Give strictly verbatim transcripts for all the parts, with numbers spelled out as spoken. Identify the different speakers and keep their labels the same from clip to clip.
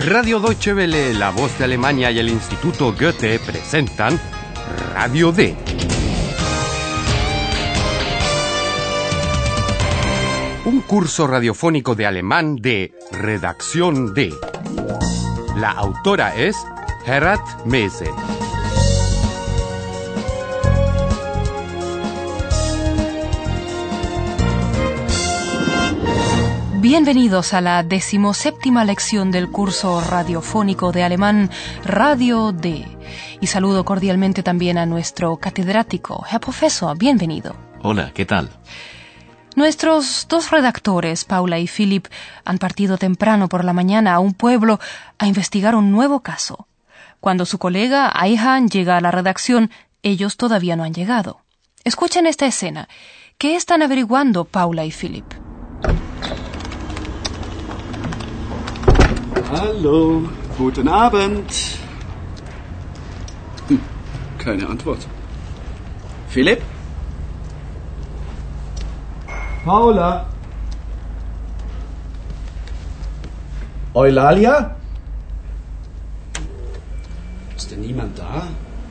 Speaker 1: Radio Deutsche Welle, La Voz de Alemania y el Instituto Goethe presentan Radio D. Un curso radiofónico de alemán de Redacción D. La autora es Herat Mese.
Speaker 2: Bienvenidos a la decimoséptima lección del curso radiofónico de alemán Radio D. Y saludo cordialmente también a nuestro catedrático, Herr Professor, bienvenido.
Speaker 3: Hola, ¿qué tal?
Speaker 2: Nuestros dos redactores, Paula y Philip, han partido temprano por la mañana a un pueblo a investigar un nuevo caso. Cuando su colega, Ayhan, llega a la redacción, ellos todavía no han llegado. Escuchen esta escena. ¿Qué están averiguando Paula y Philip?
Speaker 4: Hallo, guten Abend. Hm, keine Antwort. Philipp? Paula?
Speaker 5: Eulalia?
Speaker 4: Ist denn niemand da?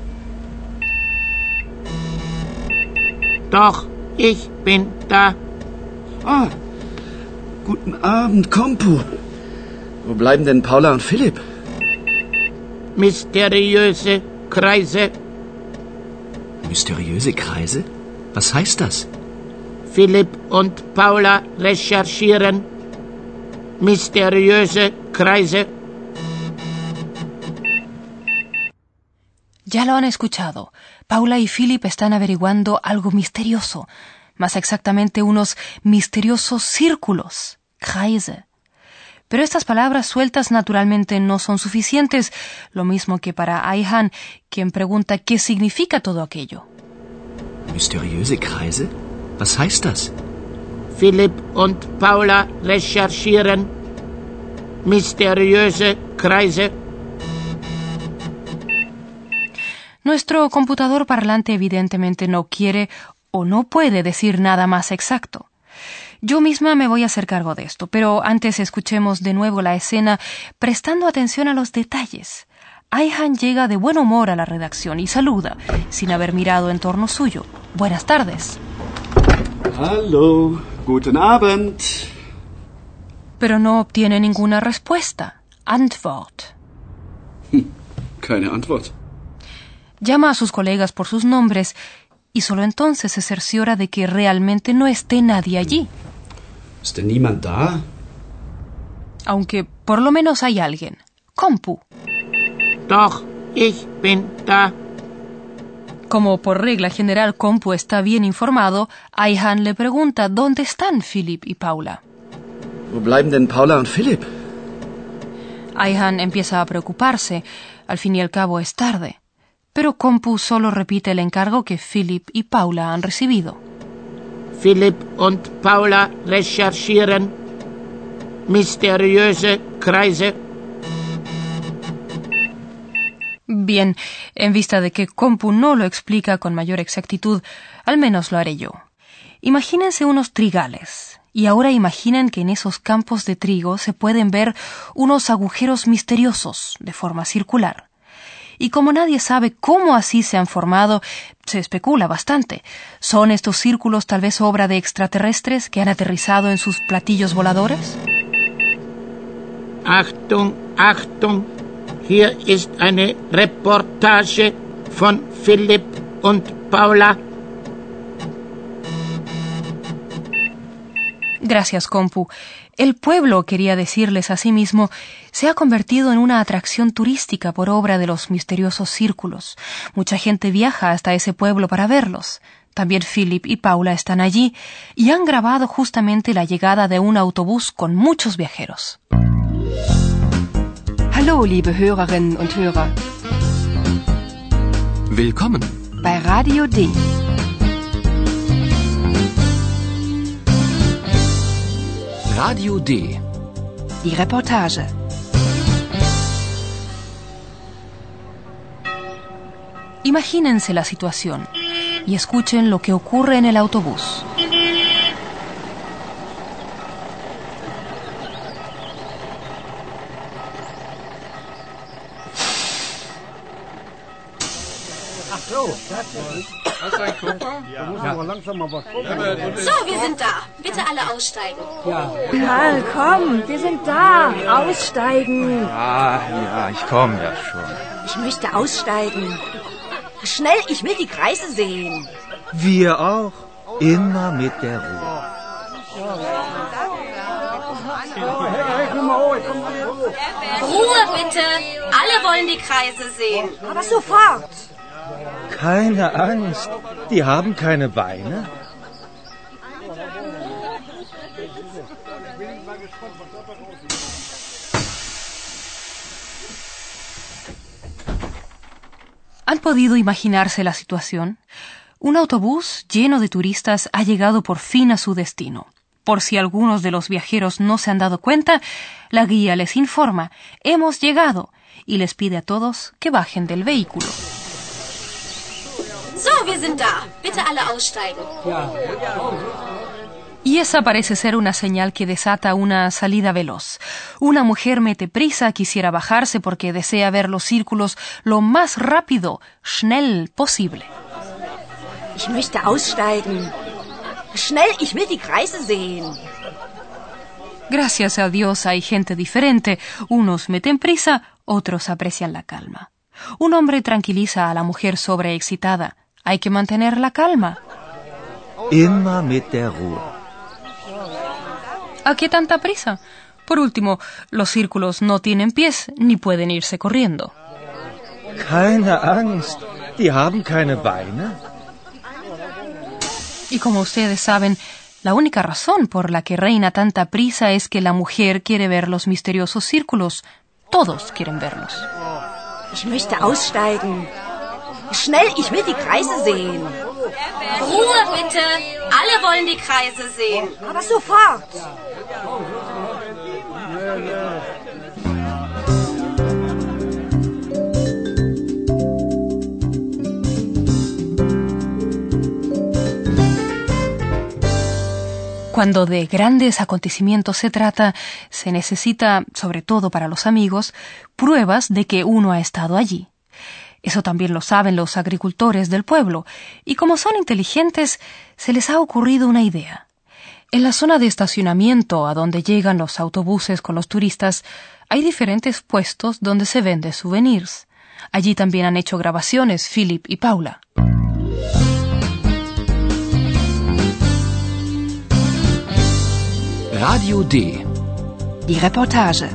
Speaker 6: Doch, ich bin da.
Speaker 4: Ah, guten Abend, Kompu. Wo bleiben denn Paula und Philipp?
Speaker 6: Mysteriöse Kreise.
Speaker 5: Mysteriöse Kreise? Was heißt das?
Speaker 6: Philipp und Paula recherchieren. Mysteriöse Kreise.
Speaker 2: Ya lo han escuchado. Paula y Philip están averiguando algo misterioso. Más exactamente, unos misteriosos círculos. Kreise. Pero estas palabras sueltas naturalmente no son suficientes, lo mismo que para Ayhan, quien pregunta qué significa todo aquello.
Speaker 5: Mysteriöse Kreise? Was heißt das?
Speaker 6: Philipp und Paula recherchieren. Mysteriöse Kreise.
Speaker 2: Nuestro computador parlante evidentemente no quiere o no puede decir nada más exacto. Yo misma me voy a hacer cargo de esto, pero antes escuchemos de nuevo la escena prestando atención a los detalles. Ayhan llega de buen humor a la redacción y saluda, sin haber mirado en torno suyo. Buenas tardes.
Speaker 4: Hallo, guten Abend.
Speaker 2: Pero no obtiene ninguna respuesta. Antwort.
Speaker 4: Hm, keine Antwort.
Speaker 2: Llama a sus colegas por sus nombres y solo entonces se cerciora de que realmente no esté nadie allí.
Speaker 4: Ist denn niemand da?
Speaker 2: Aunque por lo menos hay alguien. Kompu.
Speaker 6: Doch, ich bin da.
Speaker 2: Como por regla general Kompu está bien informado, Ayhan le pregunta dónde están Philip y Paula.
Speaker 4: Wo bleiben denn Paula und Philipp?
Speaker 2: Ayhan empieza a preocuparse. Al fin y al cabo es tarde. Pero Kompu solo repite el encargo que Philip y Paula han recibido.
Speaker 6: Philipp und Paula recherchieren. Mysteriöse Kreise.
Speaker 2: Bien, en vista de que Kompu no lo explica con mayor exactitud, al menos lo haré yo. Imagínense unos trigales, y ahora imaginen que en esos campos de trigo se pueden ver unos agujeros misteriosos de forma circular. Y como nadie sabe cómo así se han formado, se especula bastante. ¿Son estos círculos tal vez obra de extraterrestres que han aterrizado en sus platillos voladores?
Speaker 6: Achtung, Achtung, hier ist eine Reportage von Philipp und Paula.
Speaker 2: Gracias, Kompu. El pueblo, quería decirles a sí mismo, se ha convertido en una atracción turística por obra de los misteriosos círculos. Mucha gente viaja hasta ese pueblo para verlos. También Philip y Paula están allí y han grabado justamente la llegada de un autobús con muchos viajeros.
Speaker 7: Hallo, liebe Hörerinnen und Hörer.
Speaker 3: Willkommen
Speaker 7: bei Radio D.
Speaker 3: Radio D.
Speaker 7: Die Reportage.
Speaker 2: Imagínense la situación y escuchen lo que ocurre en el autobús.
Speaker 1: Hast du einen Koffer?
Speaker 8: So, wir sind da. Bitte alle aussteigen.
Speaker 9: Karl, komm, wir sind da. Aussteigen.
Speaker 10: Ah, ja, ich komme ja schon.
Speaker 9: Ich möchte aussteigen. Schnell, ich will die Kreise sehen.
Speaker 10: Wir auch. Immer mit der Ruhe.
Speaker 8: Ruhe bitte. Alle wollen die Kreise sehen.
Speaker 9: Aber sofort.
Speaker 10: Keine Angst. Die haben keine Beine.
Speaker 2: ¿Han podido imaginarse la situación? Un autobús lleno de turistas ha llegado por fin a su destino. Por si algunos de los viajeros no se han dado cuenta, la guía les informa, hemos llegado, y les pide a todos que bajen del vehículo.
Speaker 8: So, wir sind da. Bitte alle aussteigen.
Speaker 2: Y esa parece ser una señal que desata una salida veloz. Una mujer mete prisa, quisiera bajarse porque desea ver los círculos lo más rápido, schnell, posible.
Speaker 9: Ich möchte aussteigen. Schnell, ich will die Kreise sehen.
Speaker 2: Gracias a Dios hay gente diferente. Unos meten prisa, otros aprecian la calma. Un hombre tranquiliza a la mujer sobreexcitada. Hay que mantener la calma.
Speaker 10: Immer mit der Ruhe.
Speaker 2: ¿A qué tanta prisa? Por último, los círculos no tienen pies ni pueden irse corriendo.
Speaker 10: Keine Angst. Die haben keine Beine.
Speaker 2: Y como ustedes saben, la única razón por la que reina tanta prisa es que la mujer quiere ver los misteriosos círculos. Todos quieren verlos.
Speaker 9: Ich möchte aussteigen. Schnell, ich will die Kreise sehen.
Speaker 8: Ruhe bitte. Alle wollen die Kreise sehen.
Speaker 9: Aber sofort.
Speaker 2: Cuando de grandes acontecimientos se trata, se necesita, sobre todo para los amigos, pruebas de que uno ha estado allí. Eso también lo saben los agricultores del pueblo, y como son inteligentes, se les ha ocurrido una idea. En la zona de estacionamiento a donde llegan los autobuses con los turistas, hay diferentes puestos donde se venden souvenirs. Allí también han hecho grabaciones Philip y Paula.
Speaker 3: Radio D.
Speaker 7: Die Reportage.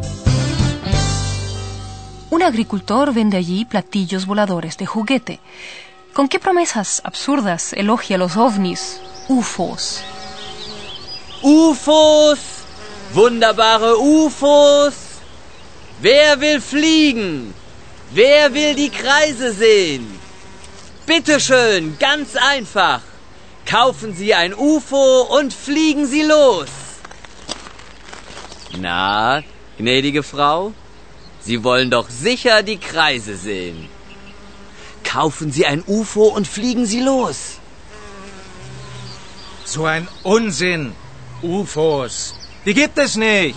Speaker 2: Un agricultor vende allí platillos voladores de juguete. ¿Con qué promesas absurdas elogia los ovnis, U F Os?
Speaker 11: U F Os! Wunderbare U F Os! Wer will fliegen? Wer will die Kreise sehen? Bitte schön, ganz einfach. Kaufen Sie ein U F O und fliegen Sie los. Na, gnädige Frau? Sie wollen doch sicher die Kreise sehen. Kaufen Sie ein U F O und fliegen Sie los.
Speaker 12: So ein Unsinn. U F Os. Die gibt es nicht.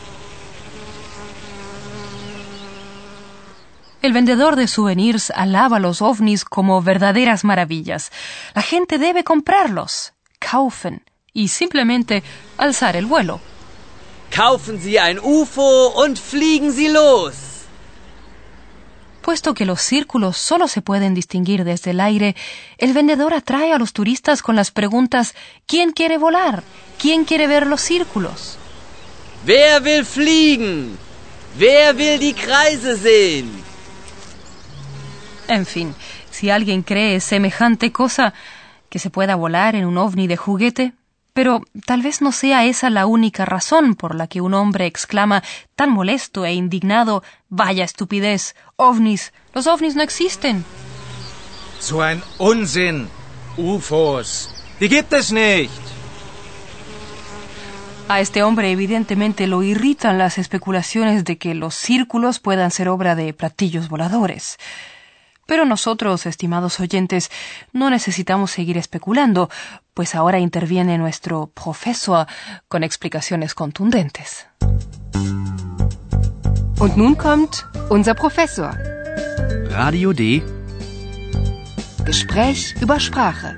Speaker 2: El vendedor de souvenirs alaba los ovnis como verdaderas maravillas. La gente debe comprarlos, kaufen, y simplemente alzar el vuelo.
Speaker 11: Kaufen Sie ein U F O und fliegen Sie los.
Speaker 2: Puesto que los círculos solo se pueden distinguir desde el aire, el vendedor atrae a los turistas con las preguntas ¿quién quiere volar? ¿Quién quiere ver los círculos?
Speaker 11: Wer will fliegen? Wer will die Kreise sehen?
Speaker 2: En fin, si alguien cree semejante cosa, que se pueda volar en un ovni de juguete, pero tal vez no sea esa la única razón por la que un hombre exclama tan molesto e indignado, ¡vaya estupidez! ¡Ovnis! ¡Los ovnis no existen!
Speaker 12: So ein Unsinn. U F Os. Die gibt es nicht.
Speaker 2: A este hombre evidentemente lo irritan las especulaciones de que los círculos puedan ser obra de platillos voladores. Pero nosotros, estimados oyentes, no necesitamos seguir especulando, pues ahora interviene nuestro profesor con explicaciones contundentes.
Speaker 7: Und nun kommt unser Professor.
Speaker 3: Radio D.
Speaker 7: Gespräch über Sprache.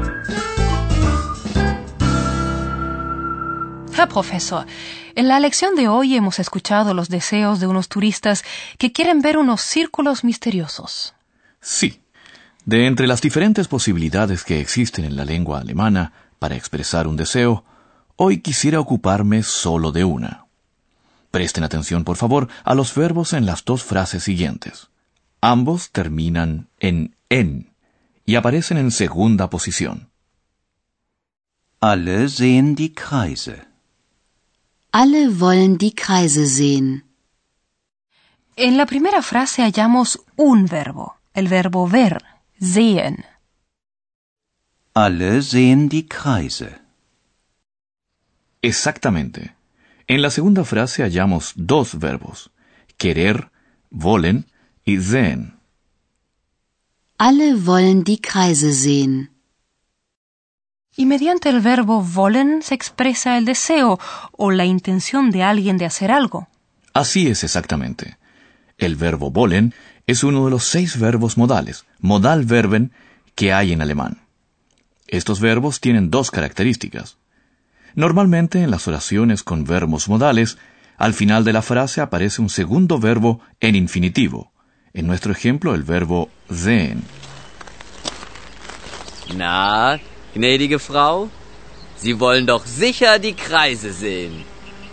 Speaker 2: Herr Profesor, en la lección de hoy hemos escuchado los deseos de unos turistas que quieren ver unos círculos misteriosos.
Speaker 3: Sí. De entre las diferentes posibilidades que existen en la lengua alemana para expresar un deseo, hoy quisiera ocuparme solo de una. Presten atención, por favor, a los verbos en las dos frases siguientes. Ambos terminan en en y aparecen en segunda posición.
Speaker 13: Alle sehen die Kreise.
Speaker 7: Alle wollen die Kreise sehen.
Speaker 2: En la primera frase hallamos un verbo, el verbo ver, sehen.
Speaker 13: Alle sehen die Kreise.
Speaker 3: Exactamente. En la segunda frase hallamos dos verbos, querer, wollen, y sehen.
Speaker 7: Alle wollen die Kreise sehen.
Speaker 2: Y mediante el verbo wollen se expresa el deseo o la intención de alguien de hacer algo.
Speaker 3: Así es exactamente. El verbo wollen es uno de los seis verbos modales, Modalverben, que hay en alemán. Estos verbos tienen dos características. Normalmente en las oraciones con verbos modales, al final de la frase aparece un segundo verbo en infinitivo. En nuestro ejemplo, el verbo sehen.
Speaker 11: Na, gnädige Frau, Sie wollen doch sicher die Kreise sehen.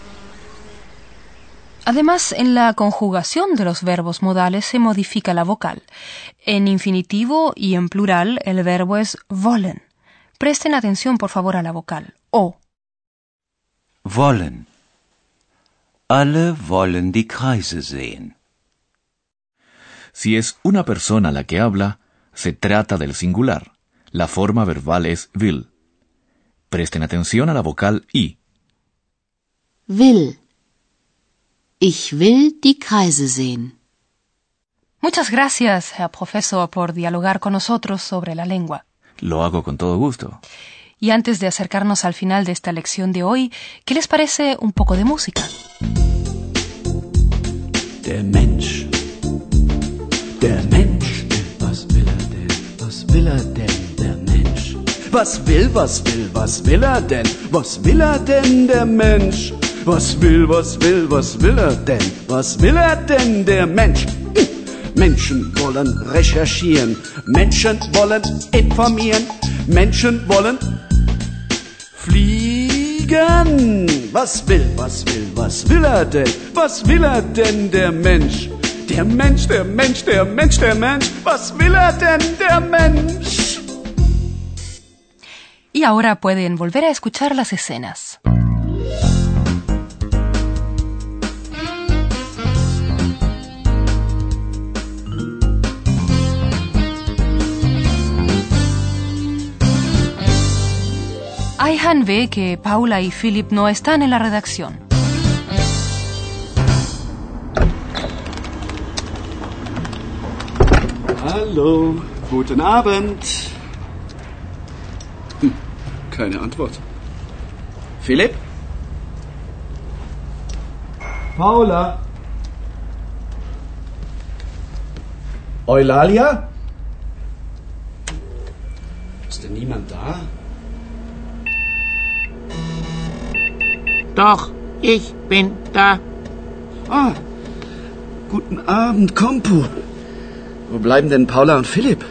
Speaker 2: Además, en la conjugación de los verbos modales se modifica la vocal. En infinitivo y en plural el verbo es wollen. Presten atención, por favor, a la vocal O.
Speaker 13: Wollen. Alle wollen die Kreise sehen.
Speaker 3: Si es una persona la que habla, se trata del singular. La forma verbal es will. Presten atención a la vocal I.
Speaker 7: Will. Ich will die Kreise sehen.
Speaker 2: Muchas gracias, Herr Profesor, por dialogar con nosotros sobre la lengua.
Speaker 3: Lo hago con todo gusto.
Speaker 2: Y antes de acercarnos al final de esta lección de hoy, ¿qué les parece un poco de música?
Speaker 4: Der Mensch. Der Mensch. Was will er denn? Was will er denn, der Mensch? Was will, was will, was will er denn? Was will er denn, der Mensch? Was will, was will, was will er denn? Was will er denn, der Mensch? Menschen wollen recherchieren, Menschen wollen informieren, Menschen wollen fliegen. Was will, was will, was will er denn? Was will er denn, der Mensch? Der Mensch, der Mensch, der Mensch, der Mensch. Was will er denn, der Mensch?
Speaker 2: Y ahora pueden volver a escuchar las escenas. Ayhan ve que Paula y Philip no están en la redacción.
Speaker 4: Hallo, guten Abend. Hm, keine Antwort. Philipp? Paula? Eulalia? Ist denn niemand da?
Speaker 6: Doch, ich bin da.
Speaker 4: Ah, guten Abend, Kompu. Wo bleiben denn Paula und Philipp?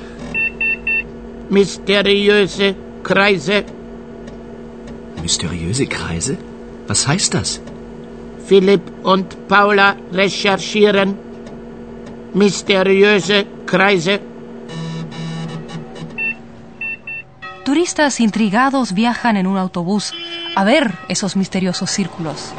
Speaker 6: Mysteriöse Kreise.
Speaker 5: Mysteriöse Kreise? Was heißt das?
Speaker 6: Philipp und Paula recherchieren. Mysteriöse Kreise.
Speaker 2: Turistas intrigados viajan en un autobús a ver esos misteriosos círculos.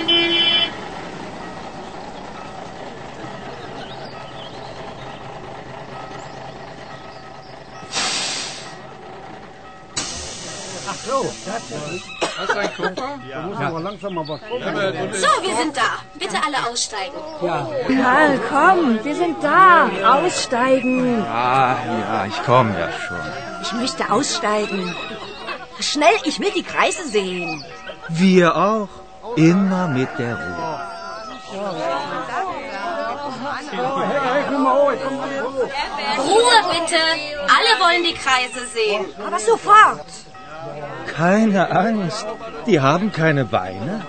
Speaker 8: So, wir sind da. Bitte alle aussteigen.
Speaker 9: Ja. Karl, komm, wir sind da. Aussteigen.
Speaker 10: Ah, ja, ich komme ja schon.
Speaker 9: Ich möchte aussteigen. Schnell, ich will die Kreise sehen.
Speaker 10: Wir auch. Immer mit der Ruhe.
Speaker 8: Ruhe bitte. Alle wollen die Kreise sehen.
Speaker 9: Aber sofort.
Speaker 10: Keine Angst, die haben keine Beine.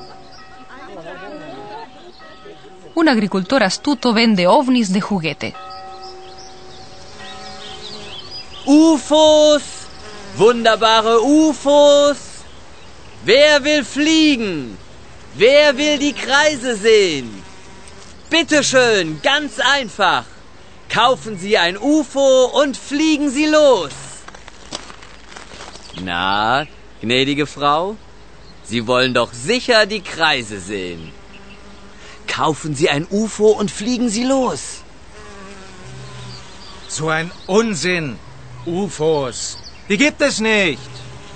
Speaker 2: Un agricultor astuto vende ovnis de juguete.
Speaker 11: U F Os! Wunderbare U F Os! Wer will fliegen? Wer will die Kreise sehen? Bitte schön, ganz einfach. Kaufen Sie ein U F O und fliegen Sie los. Na, gnädige Frau, Sie wollen doch sicher die Kreise sehen. Kaufen Sie ein U F O und fliegen Sie los.
Speaker 12: So ein Unsinn! U F Os, die gibt es nicht.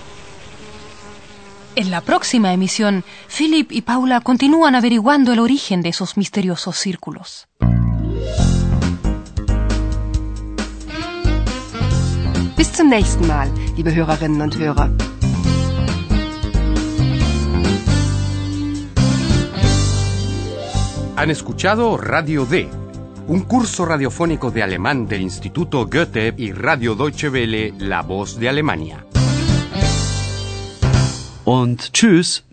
Speaker 2: En la próxima emisión, Philip y Paula continúan averiguando el origen de esos misteriosos círculos.
Speaker 14: Bis zum nächsten Mal, liebe Hörerinnen und Hörer.
Speaker 1: Han escuchado Radio D, un curso radiofónico de alemán del Instituto Goethe y Radio Deutsche Welle, La Voz de Alemania.
Speaker 13: Und tschüss.